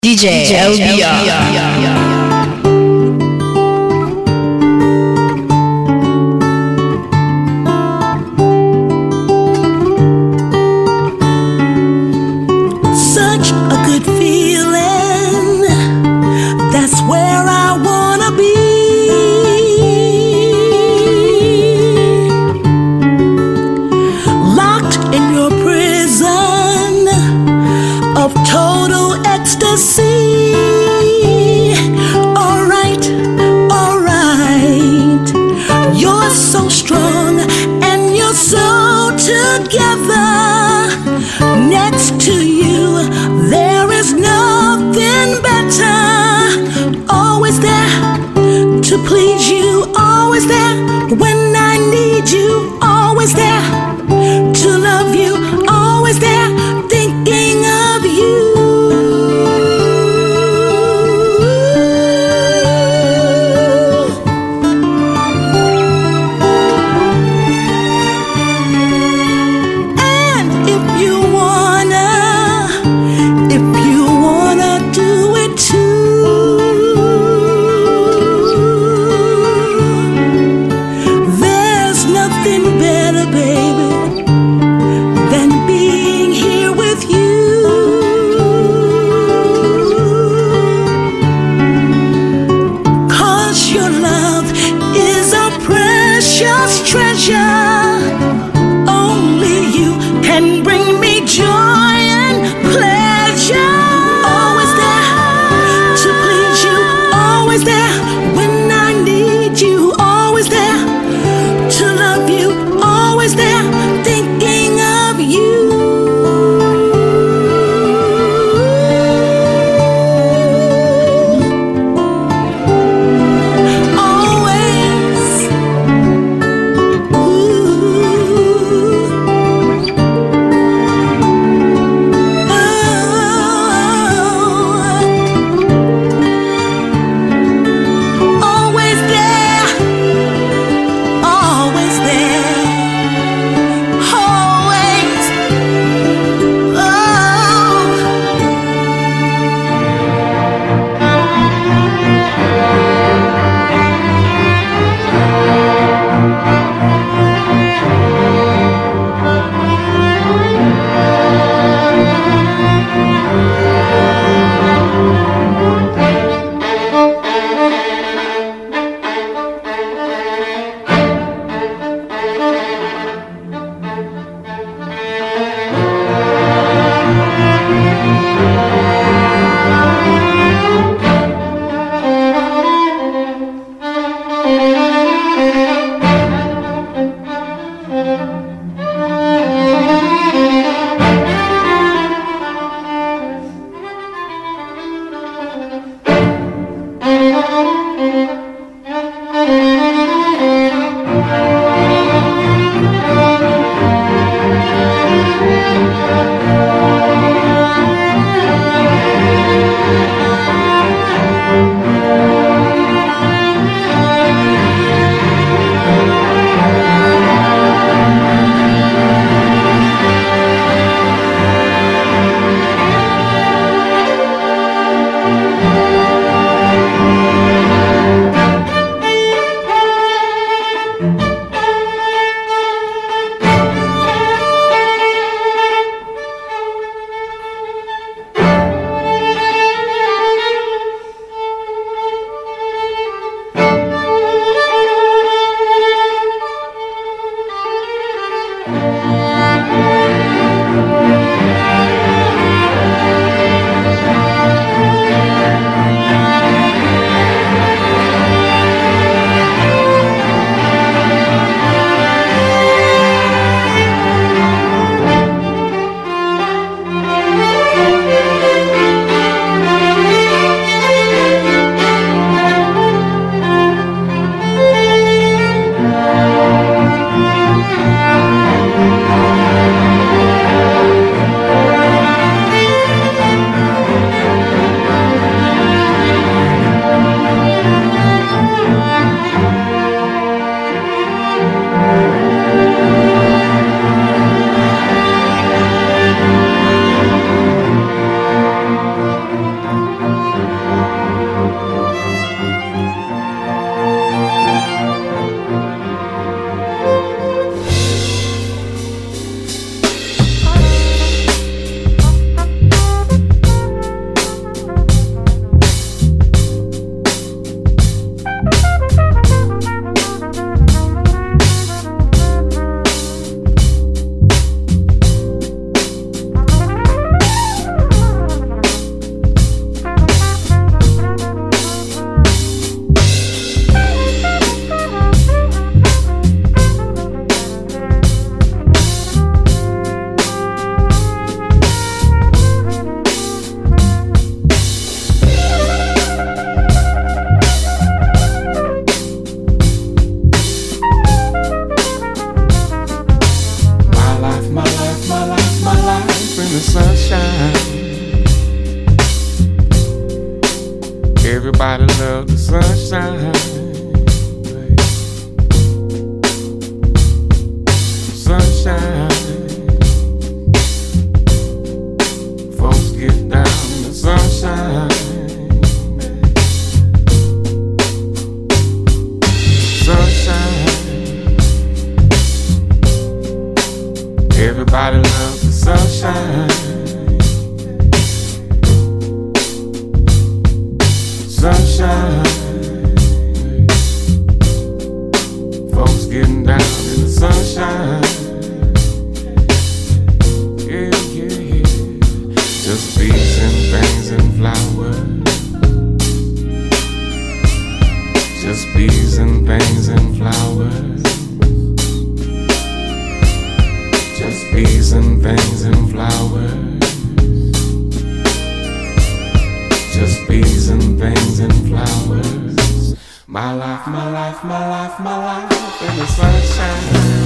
DJ LBR. Such a good feeling. That's where I wanna be. Locked in your prison of total ecstasy. Alright, alright. You're so strong and you're so together. Next to you, there is nothing better. Always there to please you. Always there when I need you. Always there to love you. Always there thinking of you. And if you wanna do it too, Everybody love the sunshine. Sunshine. Folks get down in the sunshine. Sunshine. Everybody loves the sunshine. Sunshine. Folks getting down in the sunshine. Yeah, yeah, yeah. Just bees and things and flowers. Just bees and things and flowers. Just bees and things and flowers. Just bees and things and flowers. My life, my life, my life, my life in the sunshine.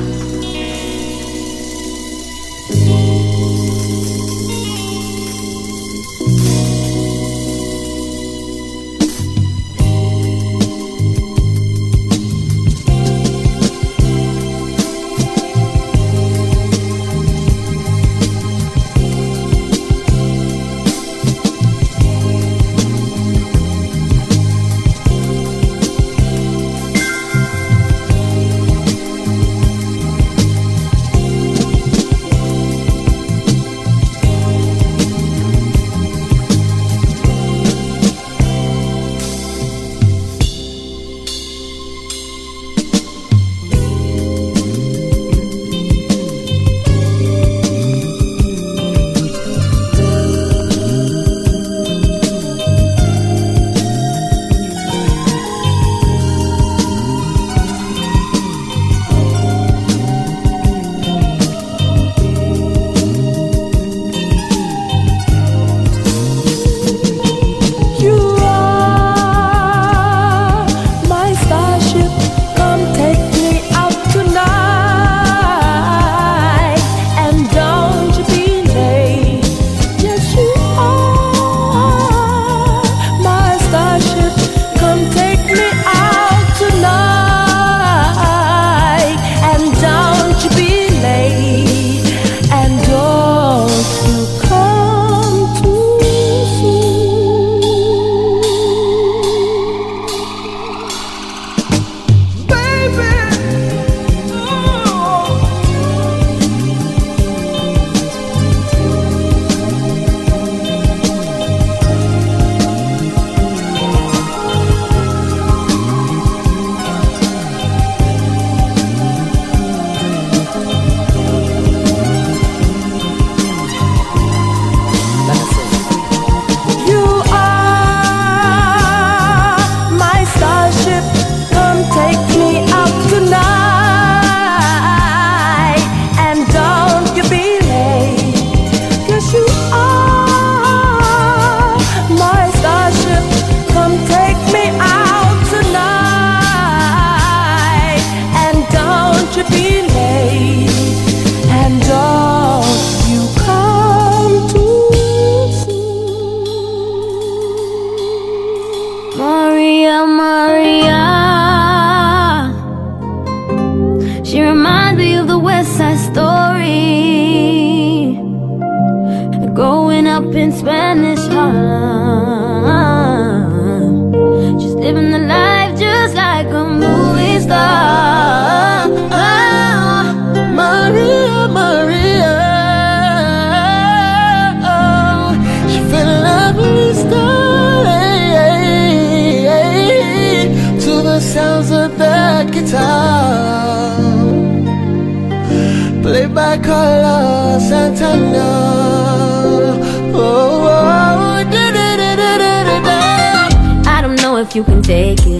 You can take it.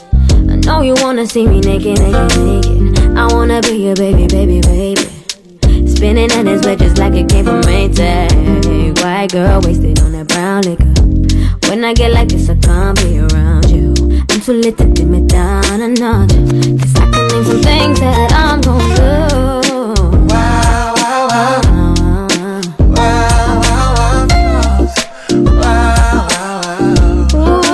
I know you wanna see me naked, naked, naked. I wanna be your baby, baby, baby. Spinning in his bed just like it came from Maytag. White girl wasted on that brown liquor. When I get like this, I can't be around you. I'm too lit to dim it down a notch. Cause I can name some things that I'm gon' do. Wow, wow, wow. Wow, wow, wow, wow. Wow, wow, wow.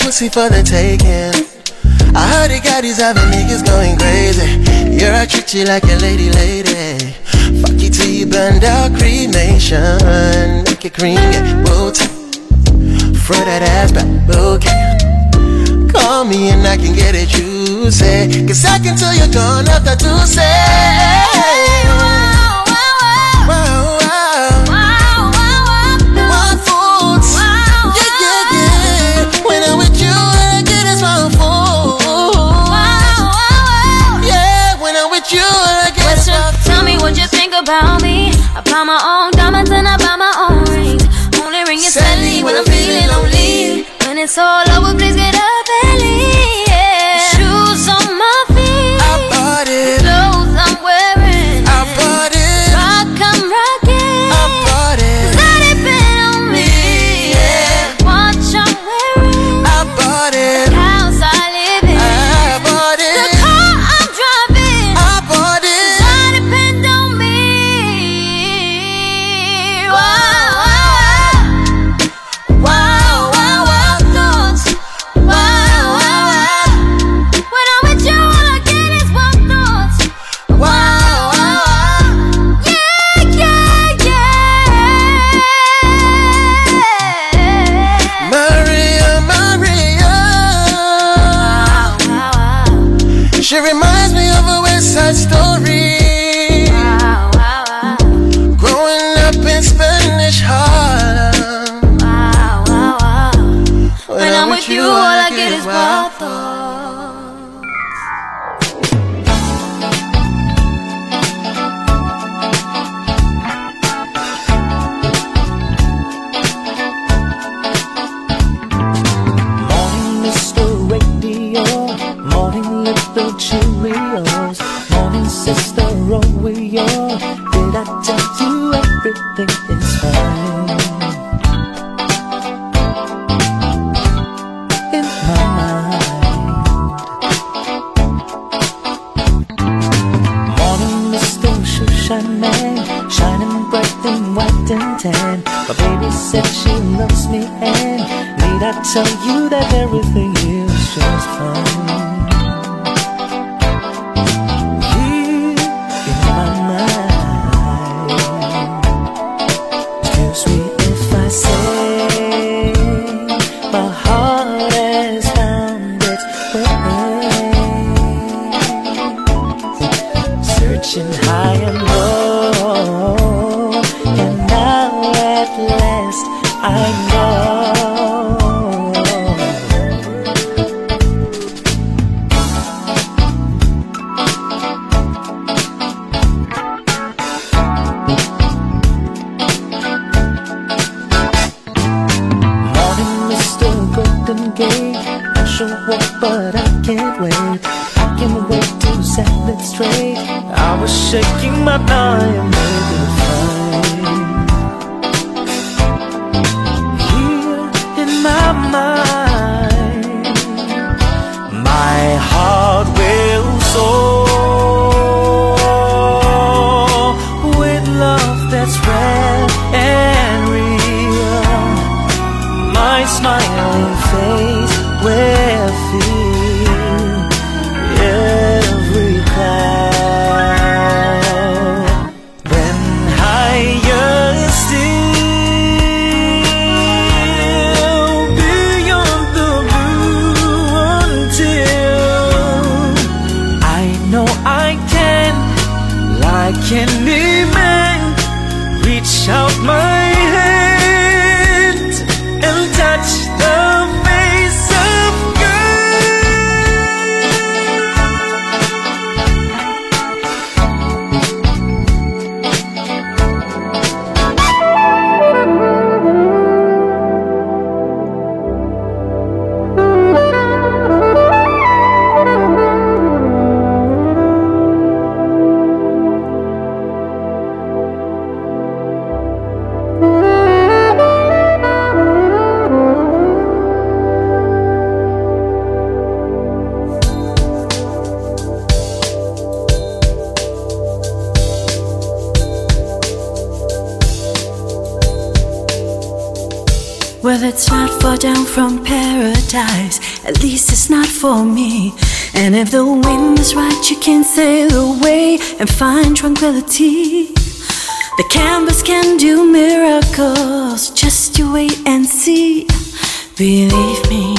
pussy for the taking. I heard it got these other niggas going crazy. You're I treat you like a lady. Fuck you till you burned out cremation. Make it cream, yeah, whoa, throw that ass back, okay. Call me and I can get it juicy. Cause I can tell you're gone after to say. What you think about me? I buy my own diamonds and I buy my own rings. Only ring is Sally when I'm feeling lonely. When it's all over, please get up and leave. Yeah. Shoes on my feet, I bought it. Clothes I'm wearing, I bought it. Rock I'm rocking, I bought it. Let it depend on me. Yeah. Watch I'm wearing, I bought it. House I live in, I bought it. The car I'm driving, I bought it. She reminds me of a West Side Story. Growing up in Spanish Harlem. When I'm with you, all I get is wild thoughts. Morning, Mr. Radio. Morning, little Cheerios. Morning, Sister Oreo. Did I tell you everything is fine? In my mind. Morning, Mr. Shoeshine Man. Shining bright and white and tan. My baby said she loves me, and need I tell you that everything is just fine? High and low, and now at last I know. Morning, Mr. Golden Gate. I should walk, but I can't wait. I can't wait to set it straight. I was shaking my thigh and made it fine. Here in my mind, my heart will soar with love that's rare and real. My smiling face will feel every cloud. When higher still, beyond the blue, until I know I can, like any man, reach out my hand and touch the face of Well, it's not far down from paradise, at least it's not for me. And if the wind is right, you can sail away and find tranquility. The canvas can do miracles, just you wait and see. Believe me.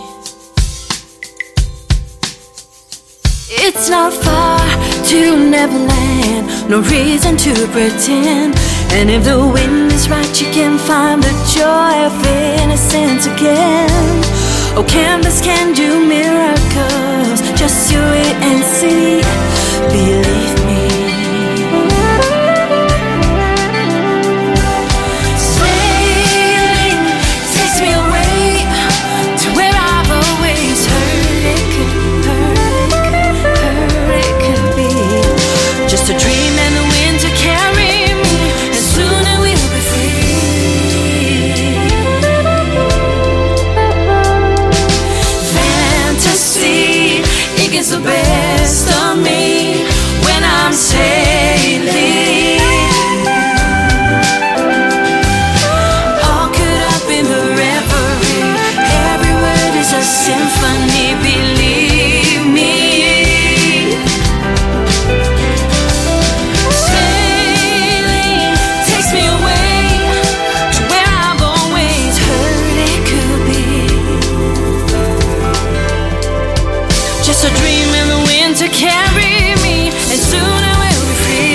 It's not far to Neverland, no reason to pretend. And if the wind is right, you can find the joy of innocence again. Oh, canvas can do miracles, just you wait and see. Believe me. Sailing takes me away to where I've always heard it could be. Just a dream and the wind to carry me, and soon I will be free. Fantasy, it gets the best of me when I'm sailing. All caught up in the reverie, every word is a symphony, believe me. Sailing takes me away to where I've always heard it could be. Just a dream in the wind to carry me, and soon I will be free.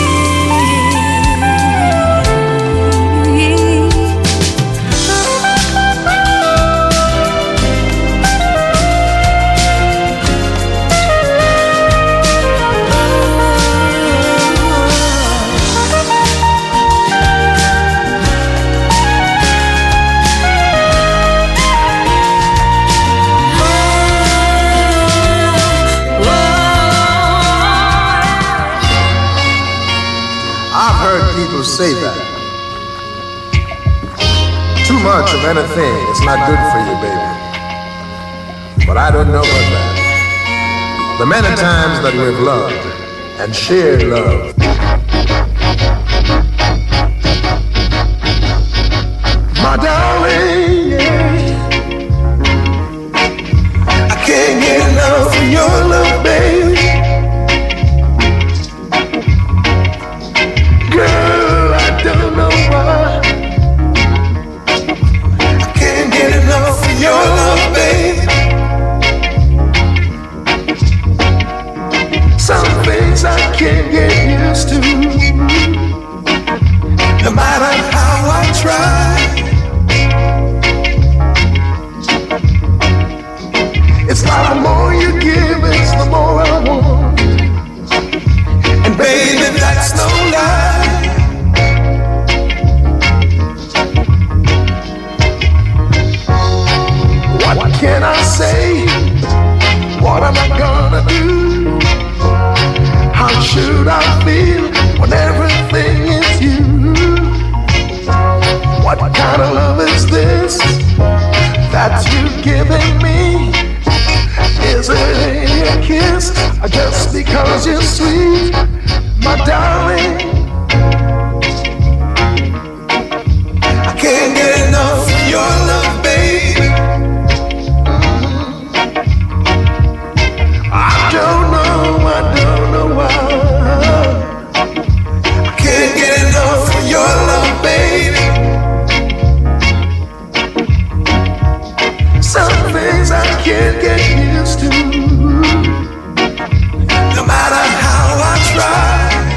I've heard people say that too much of anything is not good for you, baby. But I don't know about that. The many times that we've loved and shared love. My darling, yeah. I can't get enough of your love, baby. Girl, I don't know why. I can't get enough of your love, baby. Some things I can't get used to, no matter how I try. It's like the more you give, it's the more I want. And baby, that's no lie. What can I say? What am I gonna do? How should I feel when everything is you? What kind of love is this that you're giving me? Is it a kiss or just because you're sweet, my darling? I can't get enough of your love, baby. I don't know why. I can't get enough of your love, baby. Some things I can't get used to, no matter how I try.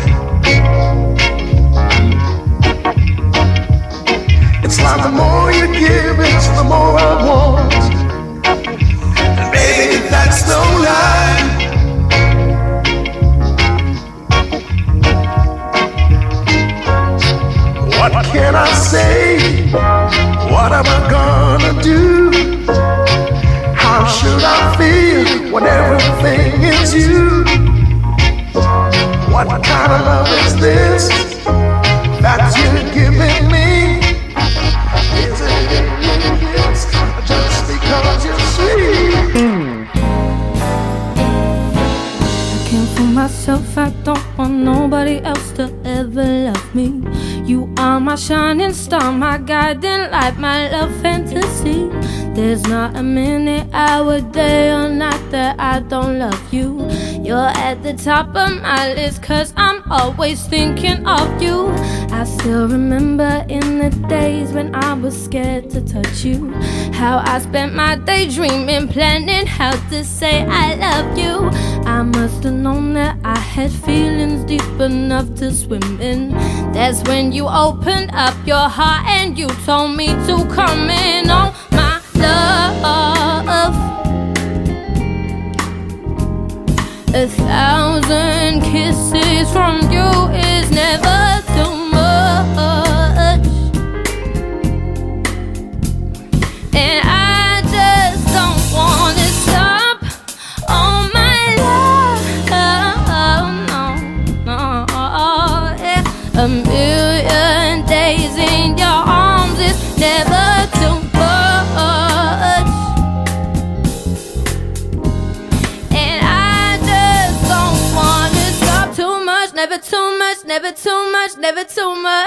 It's like the more you give, it's the more I want. And baby, that's no lie. What can I say? What am I gonna do? How should I feel when everything is you? What kind of love is this that you're giving me? Is it yes, just because you're sweet? I can't fool myself, I don't want nobody else to ever love me. You are my my shining star, my guiding light, my love fantasy. There's not a minute, hour, day or night that I don't love you. You're at the top of my list, cause I'm always thinking of you. I still remember in the days when I was scared to touch you, how I spent my day dreaming, planning how to say I love you. I must have known that I had feelings deep enough to swim in. That's when you opened up your heart and you told me to come in. Oh my love, 1,000 kisses from you is never too much, and I just don't wanna stop. Oh my love, no, yeah. A million days in your arms is never too much. Never too much, never too much, never too much.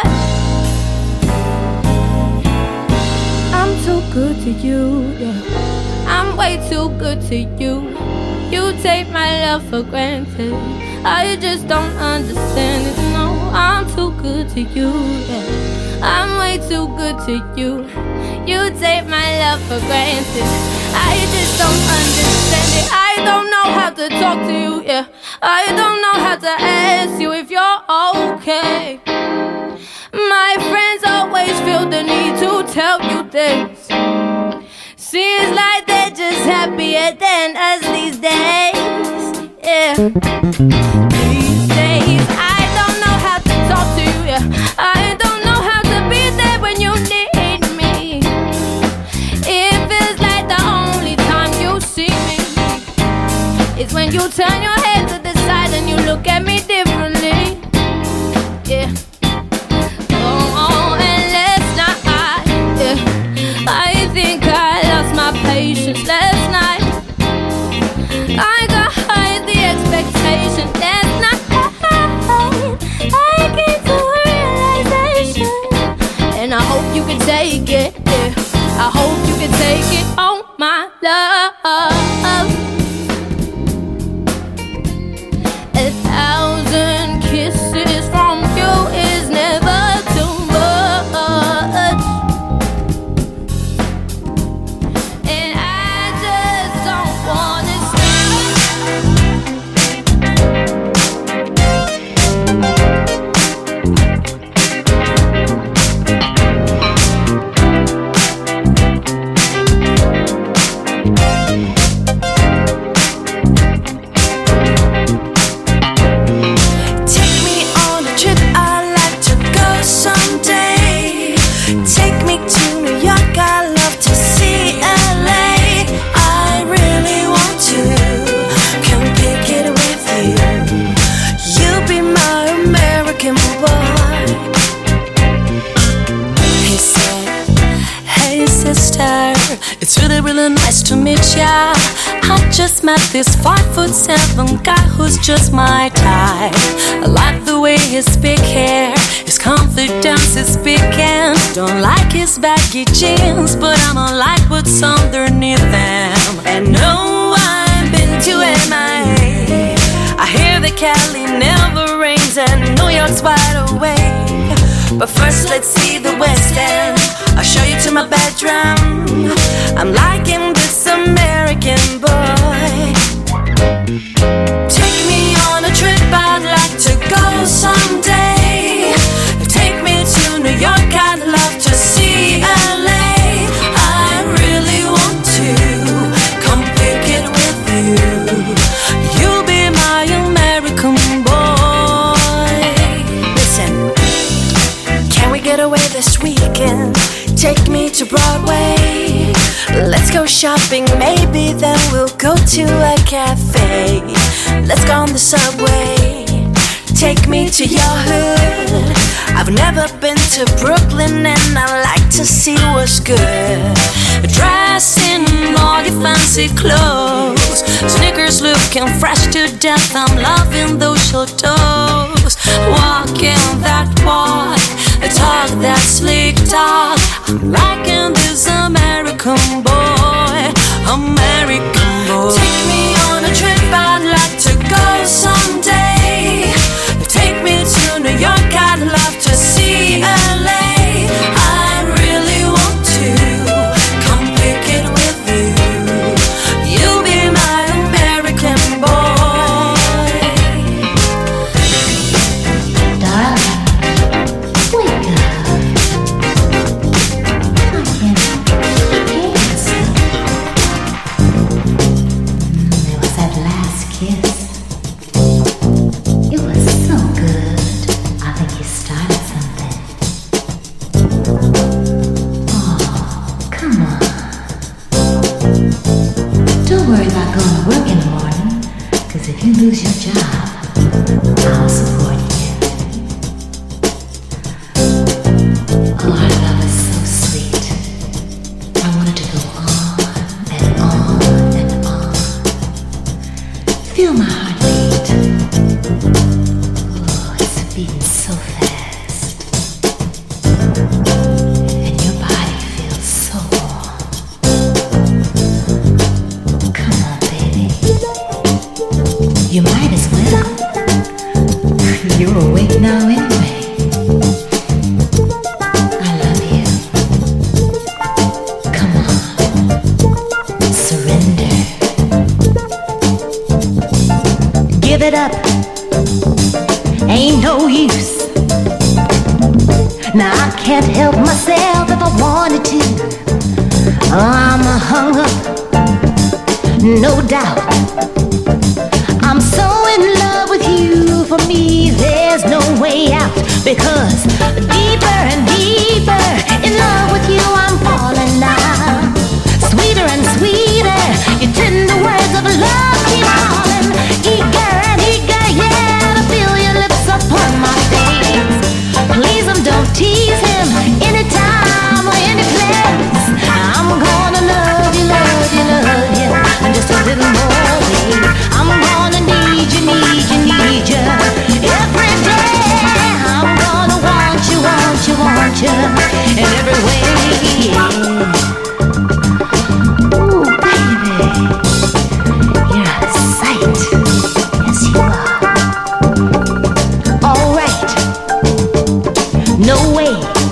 I'm too good to you, yeah. I'm way too good to you. You take my love for granted. I just don't understand it, no. I'm too good to you, yeah. I'm way too good to you. You take my love for granted. I just don't understand it. I don't know how to talk to you, yeah. I don't know how to ask you if you're okay. My friends always feel the need to tell you things. Seems like they're just happier than us these days, yeah. These days, I don't know how to talk to you, yeah. I don't know how to be there when you need me. It feels like the only time you see me is when you turn your head to the side and you look at me differently, yeah. Oh, and last night, yeah, I think I lost my patience last night. I got high the expectation last night. I came to a realization, and I hope you can take it, yeah. I hope you can take it, oh my love. 1,000 kisses from you is never too much, and I just don't wanna it's really, really nice to meet ya. I just met this 5'7" guy who's just my type. I like the way he speak here, his confidence is speaking. Don't like his baggy jeans, but I'ma like what's underneath them. And no, I've been to MIA. I hear that Cali never rains and New York's wide awake. But first let's see the West End. I'll show you to my bedroom. I'm liking this American boy. Take me on a trip, I'd like to go someday. Take me to New York, I'd love to see LA. I really want to come pick it with you. You'll be my American boy. Listen, can we get away this weekend? Take me to Broadway. Let's go shopping, maybe then we'll go to a cafe. Let's go on the subway. Take me to your hood. I've never been to Brooklyn and I like to see what's good. Dress in all your fancy clothes, sneakers looking fresh to death. I'm loving those short toes. Walking that walk, talk that slick talk. I'm liking this American boy, American boy. Take me on a trip, I'd like to go someday. Take me to New York, I'd love to see LA. I really want to come pick it with you. You be my American boy. Darling, wake up. There was that last kiss. It was so good. I think you started something. Oh, come on. Don't worry about going to work in the morning, because if you lose your job, I'll support you. Oh, our love is so sweet. I want it to go on and on and on. Feel my heartbeat. Oh, it's beating so fast. And your body feels so warm. Come on, baby. You might as well. You're awake now anyway. I love you. Come on. Surrender. Give it up. Ain't no use. Now I can't help myself if I wanted to. I'm hung up, no doubt. I'm so in love with you. For me, there's no way out. Because deeper and deeper in love with you, I'm falling now. Sweeter and sweeter, your tender words of love keep calling. Eager and eager, yeah, to feel your lips upon my face. Please don't tease him anytime or any place. I'm gonna love you, love you, love you, and just a little more, babe. I'm gonna need you, need you, need you every day. I'm gonna want you, want you, want you in every way. Ooh, baby, you're a sight. Yes, you are. All right. No way.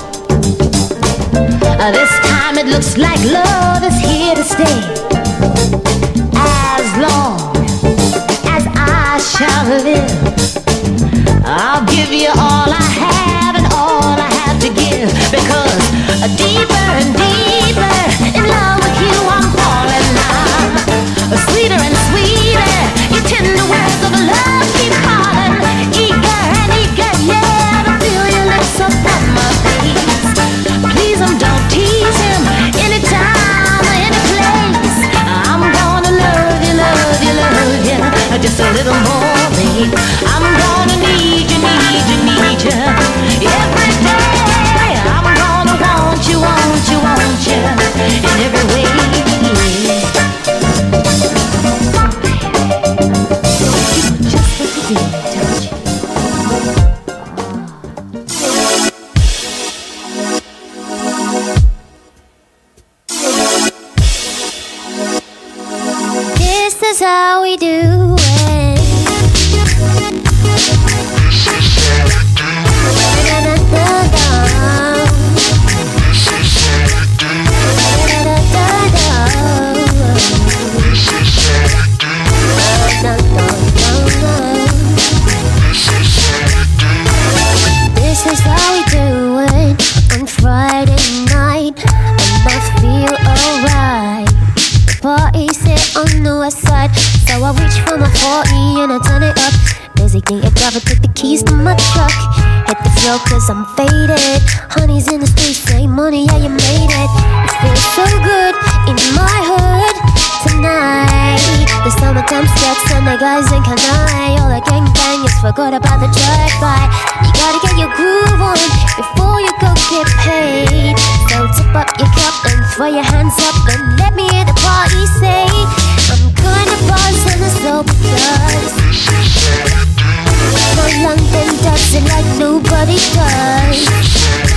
This time it looks like love is here to stay. As long as I shall live, I'll give you all I have and all I have to give. Because deeper and deeper in love with you, I'm falling now. Sweeter and sweeter, your tender words of love keep calling. Eager and eager, yeah, to feel your lips upon my face. Please don't tease him anytime or any place. I'm gonna love you, love you, love you, just a little more, babe. I'm gonna need you, need you, need you every day. I'm gonna want you, want you, want you in every way. You know just what to do, don't you? This is how we do it. This is how we do it on Friday night, and I feel alright. The party's here on the west side, so I reach for my 40 and I turn it up. Designate a driver, take the keys to my truck. Hit the floor cause I'm faded. Honey's in the streets, say money, yeah you made it. It feels so good in my hood tonight. The summertime skirts and the guys in Kanai. All the gangbangers forgot about the drive-by. You gotta get your groove on before you go get paid. So tip up your cup and throw your hands up and let me hear the party say, I'm gonna buzz and the sober does. No London does it like nobody does.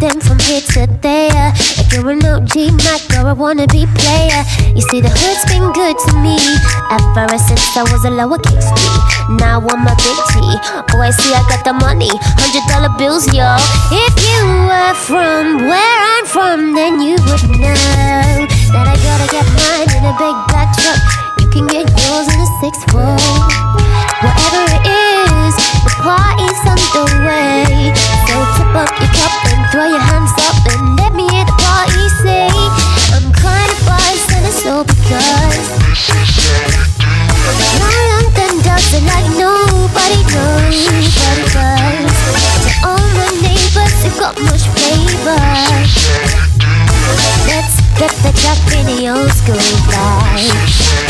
them from here to there. Like you're an OG Mac or a wannabe player. You see, the hood's been good to me ever since I was a lowercase T. Now I'm a big T. Oh, I see I got the money, $100 bills, yo. If you were from where I'm from, then you would know that I gotta get mine in a big black truck. You can get yours in a 6'4". Whatever it is, the party's underway. So tip up your cup and throw your hands up and let me hear the party say, I'm kinda buzzed and it's all because my London does it like nobody knows. To all my neighbors who've got much flavor, let's get the Jack in the old school vibe.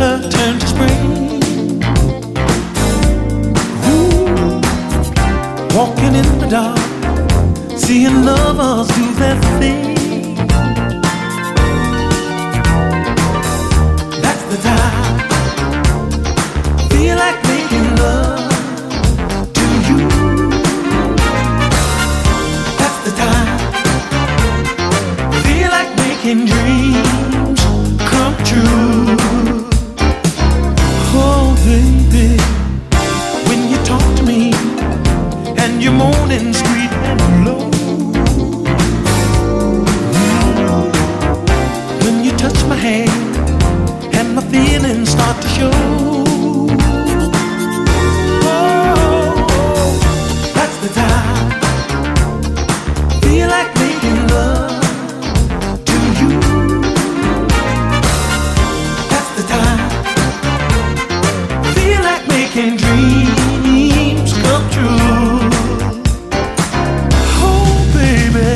winter turned to spring. Ooh, walking in the dark, seeing lovers do their thing. That's the time. Feel like making love to you. That's the time. Feel like making dreams come true. Oh baby, when you talk to me and you're moaning sweet and low, when you touch my hand and my feelings start to show. Oh, that's the time. Feel like making love to you. That's the time. Feel like making dreams come true. Oh baby.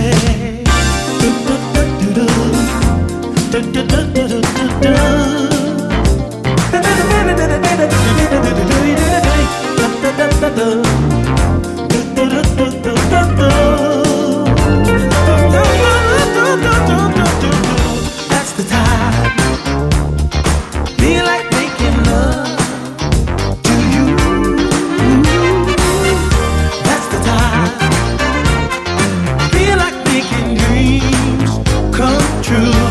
That's the time. Feel like making love to you. That's the time. Feel like making dreams come true.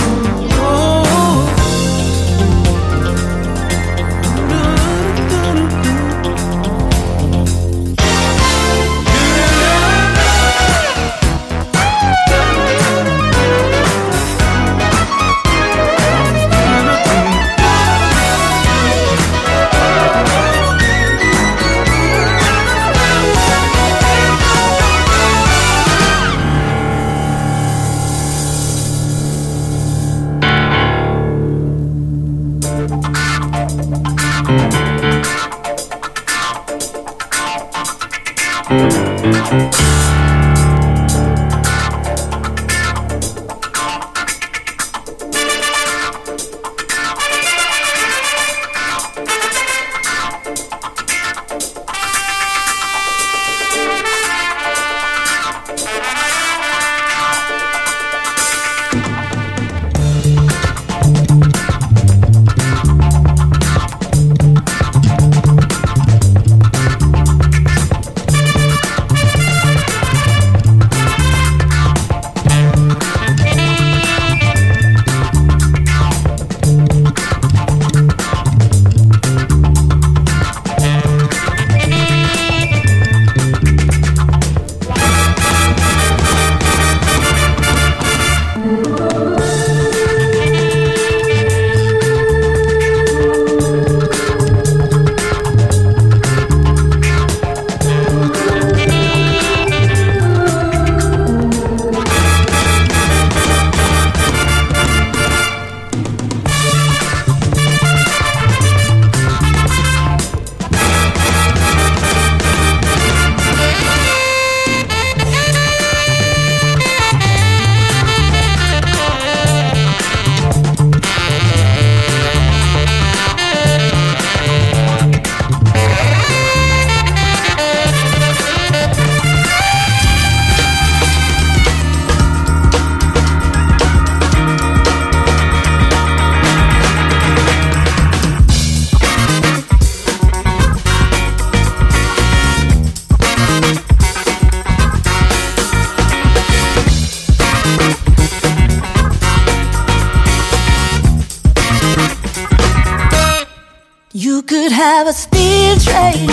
You could have a steel train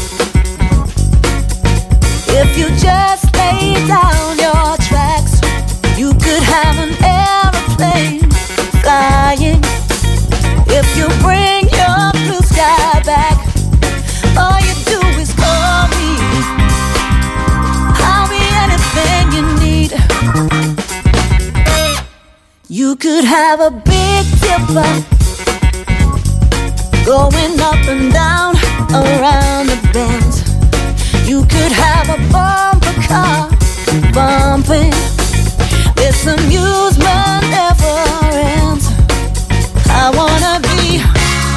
if you just lay down your tracks. You could have an aeroplane flying if you bring your blue sky back. All you do is call me, I'll be anything you need. You could have a big dipper going up and down around the bends. You could have a bumper car bumping. This amusement never ends. I wanna be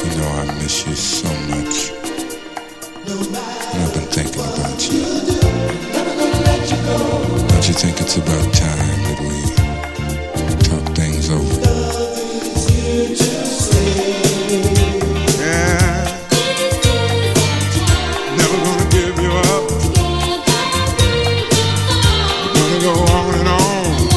You know I miss you so much. And I've been thinking about you. Don't you think it's about time that we talk things over? Yeah. Never gonna give you up. We're gonna go on and on.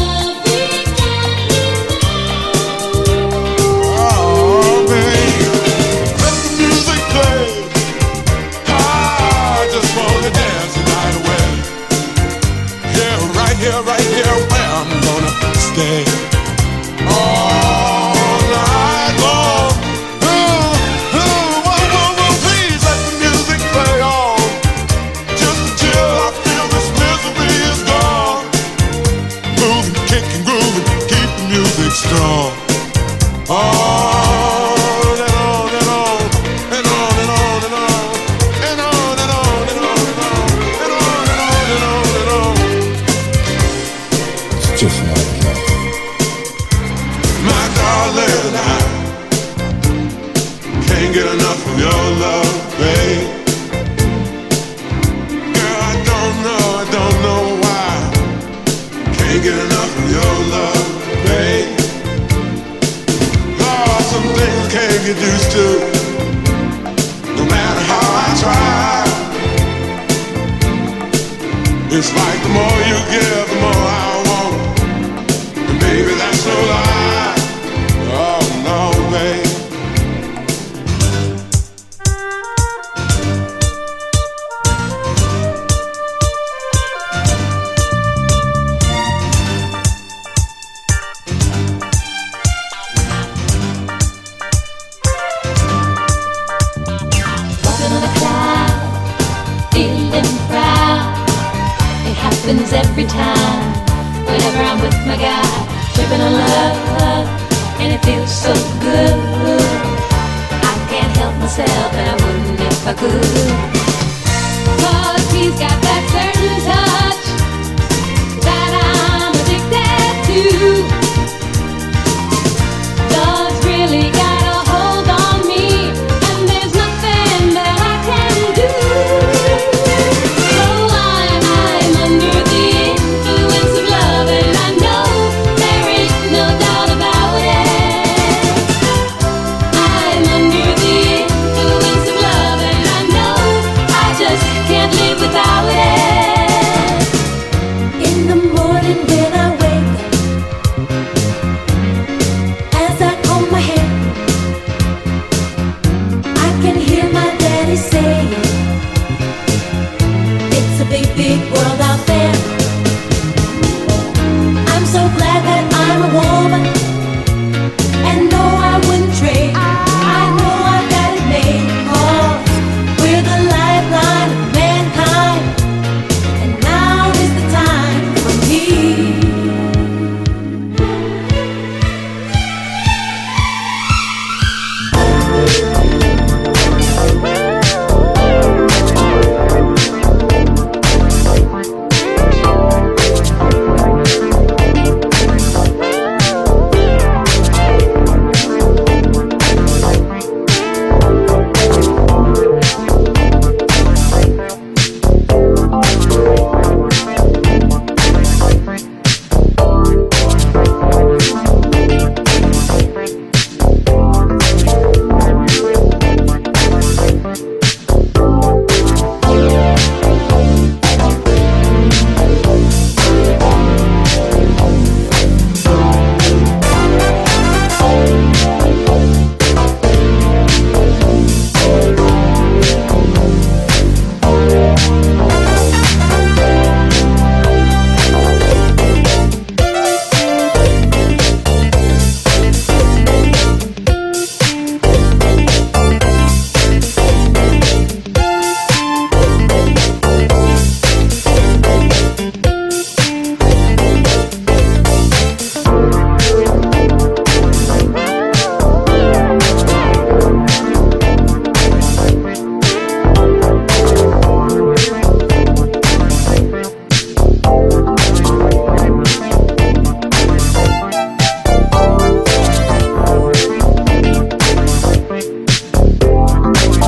Right here where I'm gonna stay all night long. Please let the music play on. Just to chill, I feel this misery is gone. Moving, kicking, grooving, keep the music strong. On and on and on and on and on and on and on and on and on and on and on and on and on and on. Just not enough. My darling, I can't get enough of your love, babe. Girl, I don't know why. Can't get enough of your love, babe. Lord, some things can't get used to, no matter how I try. It's like the more you give, the more I want. Baby, that's no lie. Oh no, babe. Walking on a cloud, feeling proud. It happens every time. Whenever I'm with my guy, tripping on love, and it feels so good. I can't help myself, and I wouldn't if I could. 'Cause he's got that certain touch that I'm addicted to. Love's really got a hold on me, and there's nothing that I can do. So I'm under the influence of love, and I know there is no doubt about it. I'm under the influence of love, and I know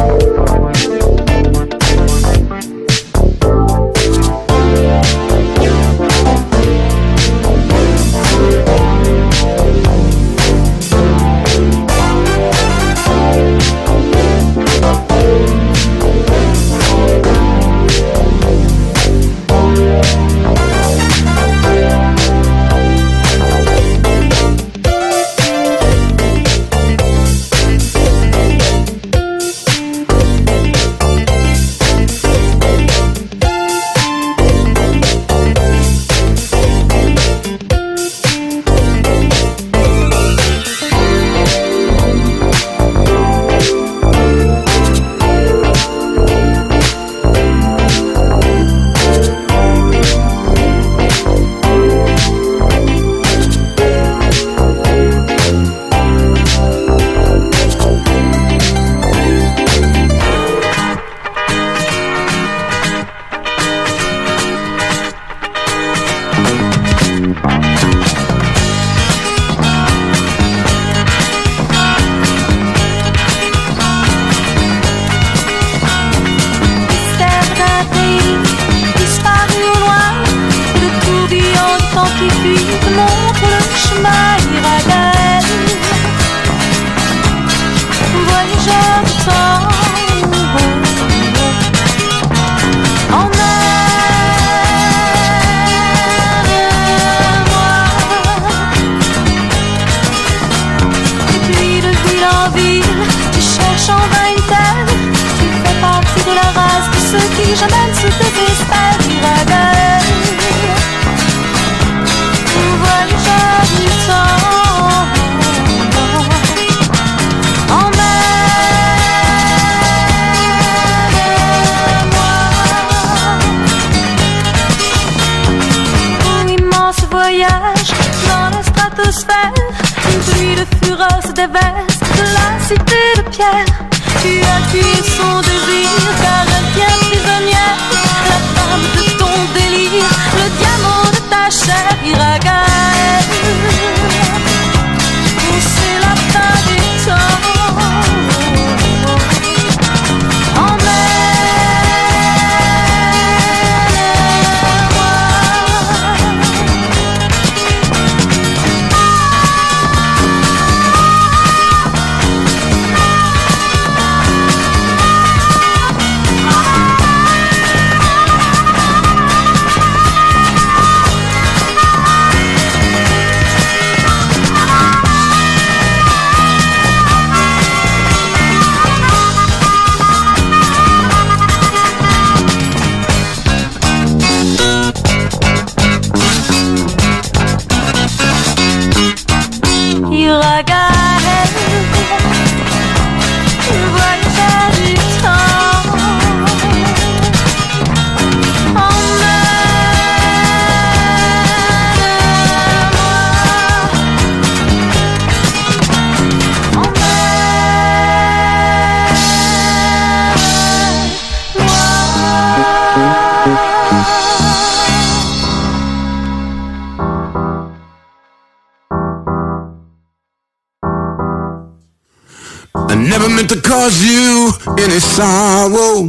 I never meant to cause you any sorrow.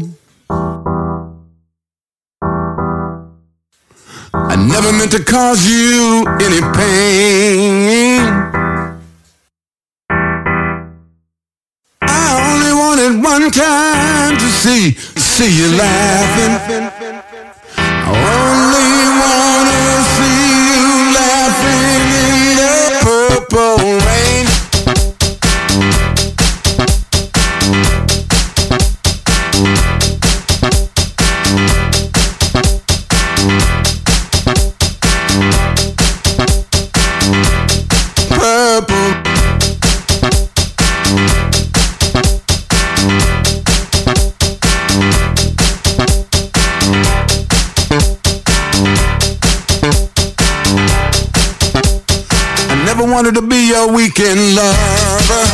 I never meant to cause you any pain. I only wanted one time to see you laughing. I only wanna see you laughing in the purple rain. Wanted to be your weekend lover.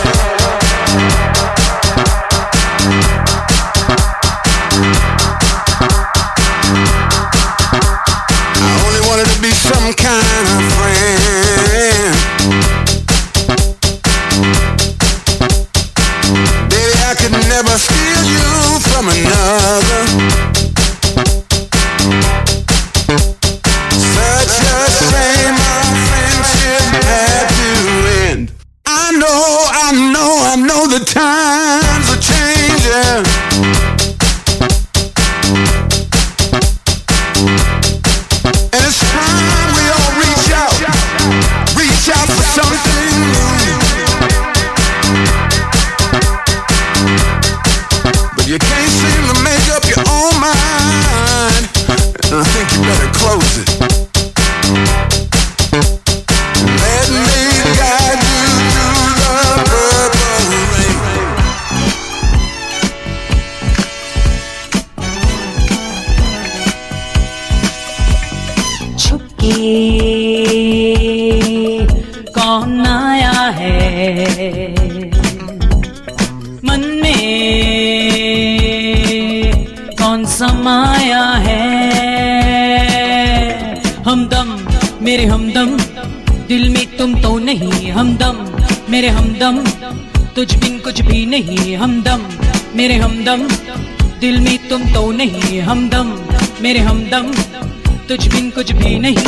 I only wanted to be some kind of friend. Baby, I could never steal you. You can't seem to make up your own mind, and I think you better close it. Let me guide you through the purple rain. छुपके कौन आया है मन में, कौन समाया है। हमदम मेरे हमदम, दिल में तुम तो नहीं। हमदम मेरे हमदम, तुझ बिन कुछ भी नहीं। हमदम मेरे हमदम, दिल में तुम तो नहीं। हमदम मेरे हमदम, तुझ बिन कुछ भी नहीं।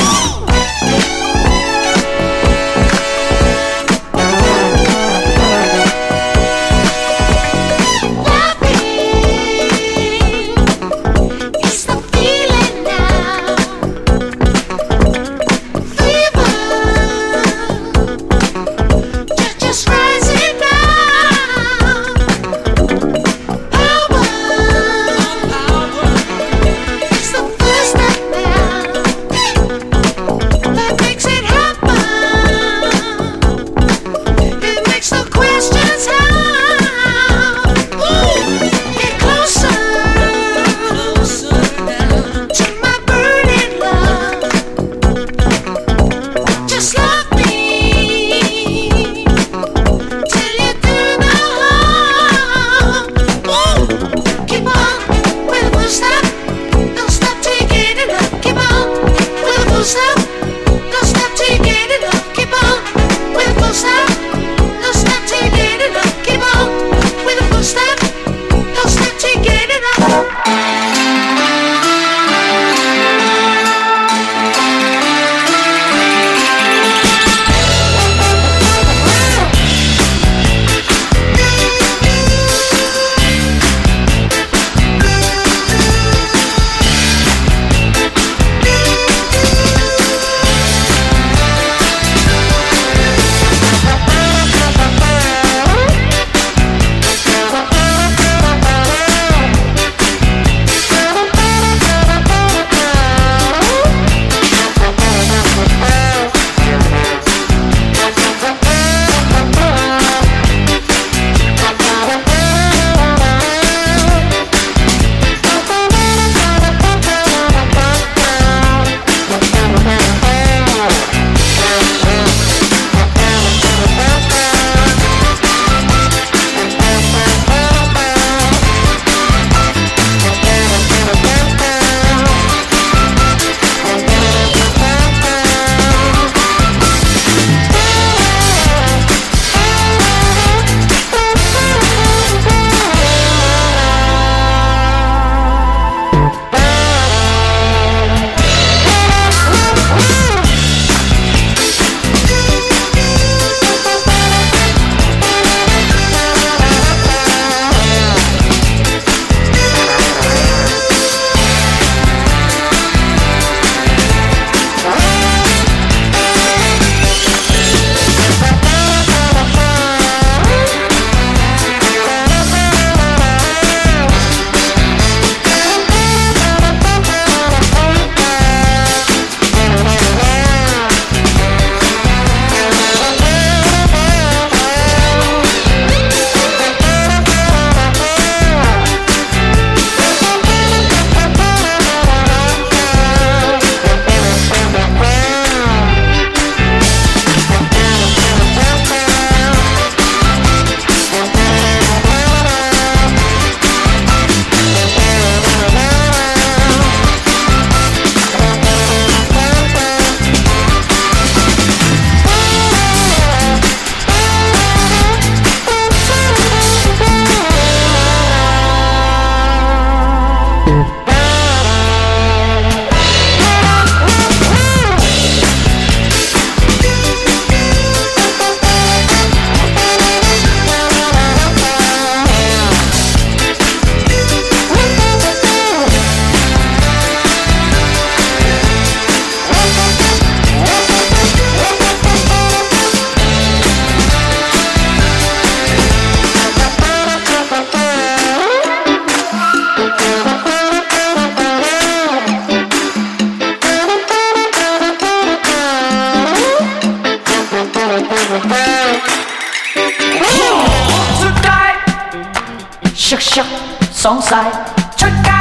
削削爽晒，出街，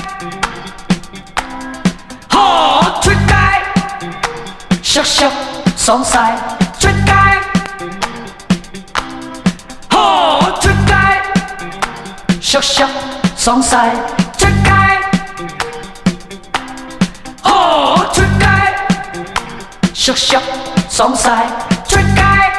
呵出街，削削爽晒，出街，呵出街，削削爽晒，出街，呵出街，削削爽晒，出街。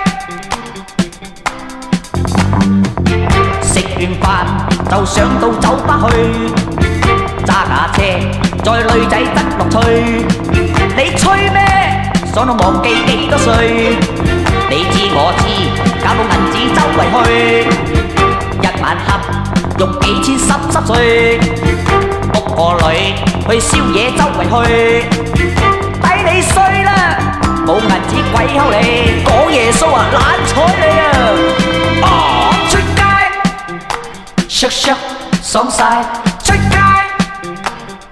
食完飯就上到酒吧去，揸架車載女仔得樂趣。你吹咩？爽到忘記幾多歲？你知我知，搞到銀紙周圍去，一晚黑用幾千濕碎，屋個女去宵夜周圍去，抵你衰啦！冇銀紙鬼溝你，講耶穌啊懶睬你啊！出街，削削爽晒，出街，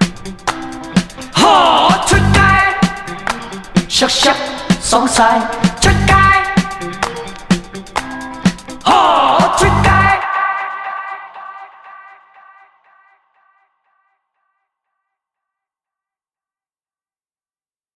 呵出街，削削爽晒。